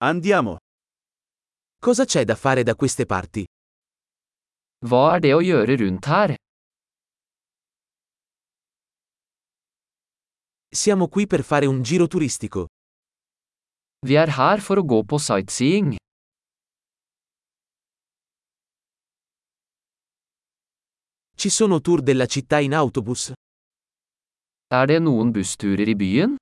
Andiamo. Cosa c'è da fare da queste parti? Hva er det å gjøre rundt her? Siamo qui per fare un giro turistico. Vi er her for å gå på sightseeing. Ci sono tour della città in autobus? Er det noen bussturer i byen?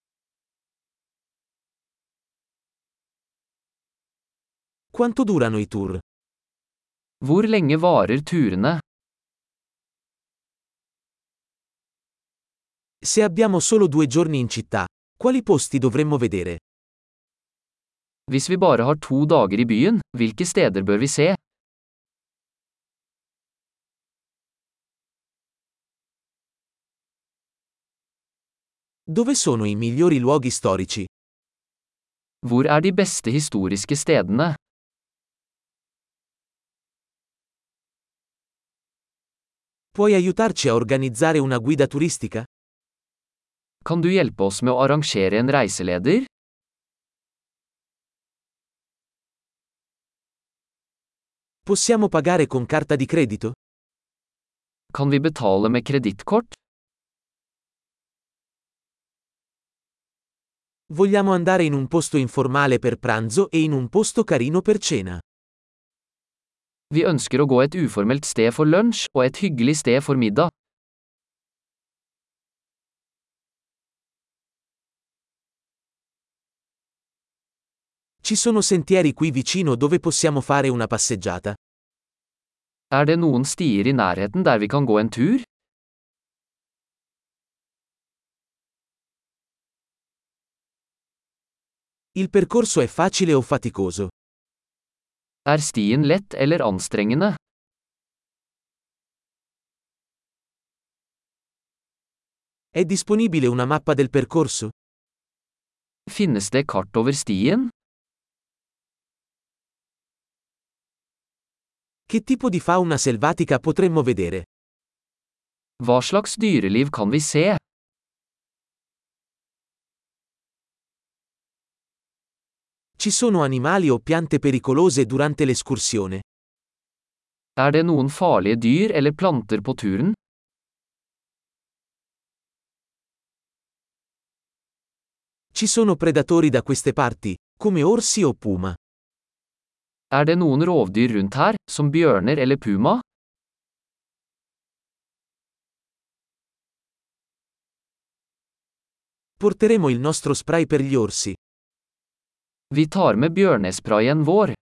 Quanto durano i tour? Hvor lenge varer turene? Se abbiamo solo 2 giorni in città, quali posti dovremmo vedere? Hvis vi bare har 2 dager i byen, hvilke steder bør vi se? Dove sono i migliori luoghi storici? Hvor er de beste historiske stedene? Puoi aiutarci a organizzare una guida turistica? Kan du hjelpe oss med å arrangere en reiseleder? Possiamo pagare con carta di credito? Kan vi betale med kredittkort? Vogliamo andare in un posto informale per pranzo e in un posto carino per cena. Vi ønsker å gå et uformelt sted for lunsj og et hyggelig sted for middag. Ci sono sentieri qui vicino dove possiamo fare una passeggiata? Er det noen stier i nærheten der vi kan gå en tur? Il percorso è facile o faticoso? Er stien lett eller anstrengende? È disponibile una mappa del percorso? Finnes det kart over stien? Che tipo di fauna selvatica potremmo vedere? Hva slags dyreliv kan vi se? Ci sono animali o piante pericolose durante l'escursione? Er det noen farlige dyr eller planter på turen? Ci sono predatori da queste parti, come orsi o puma? Er det noen rovdyr rundt her, som bjørner eller puma? Porteremo il nostro spray per gli orsi. Vi tar med bjørnesprayen vår.